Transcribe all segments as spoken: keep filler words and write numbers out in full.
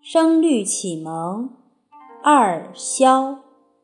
声律启蒙二萧。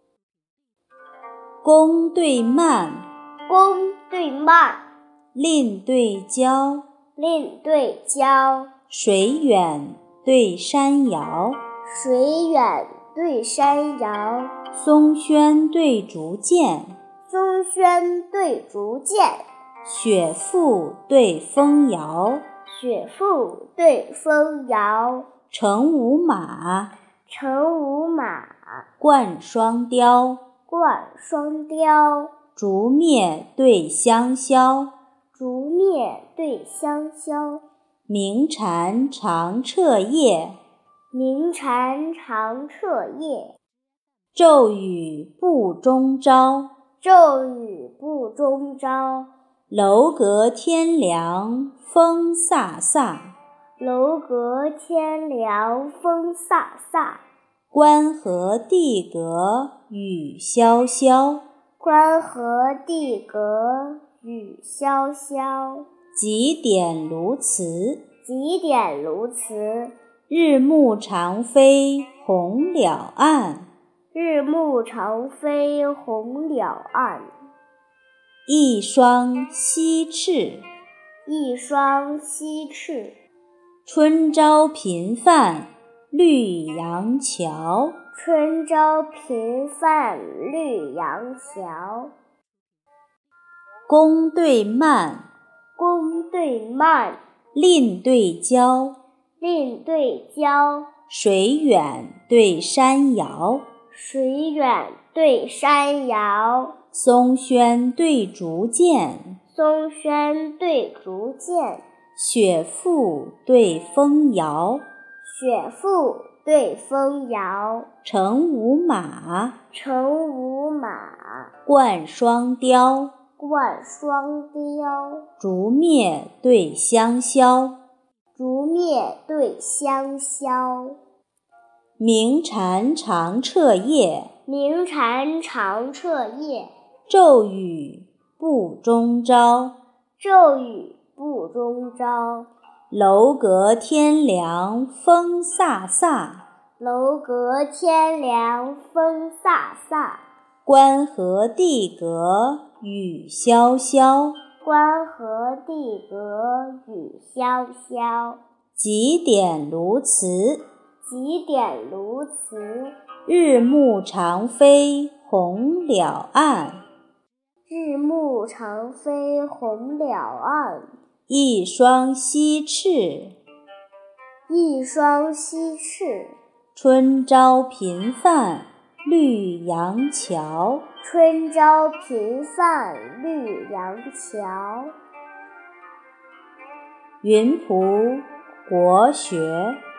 宫对蔓， 宫对蔓， 蔺对椒， 蔺对椒， 水远对山遥， 水远对山遥， 松轩对竹剑， 松轩对竹剑， 雪覆对风摇， 雪覆对风摇， 乘五马， 乘五马， 冠双雕， 冠双雕， 竹篾对香消， 竹篾对香消， 鸣蝉长彻夜， 鸣蝉长彻夜， 骤雨步中朝， 骤雨步中朝， 楼阁天凉风飒飒， 楼阁天凉风飒飒， 关河地阁雨潇潇， 关河地阁雨潇潇， 几点卢辞， 几点卢辞， 日暮长飞红了岸， 日暮长飞红了岸， 一双西翅， 一双西翅， 春朝频泛绿杨桥， 春朝频泛绿杨桥， 宫对蔓， 宫对蔓， 蔺对椒， 蔺对椒， 水远对山遥， 水远对山遥， 松轩对竹剑， 松轩对竹剑， 雪覆对风摇， 雪覆对风摇， 乘五马， 乘五马， 冠双雕， 冠双雕， 竹篾对香消， 竹篾对香消， 鸣蝉长彻夜， 鸣蝉长彻夜， 骤雨步中朝， 骤雨步中朝， 楼阁天凉风飒飒， 楼阁天凉风飒飒， 关河地阁雨潇潇， 关河地阁雨潇潇， 几点卢辞， 几点卢辞， 日暮长飞红了岸， 日暮长飞红了岸， 一双西翅， 一双西翅， 春朝频泛绿杨桥， 春朝频泛绿杨桥。 云仆国学。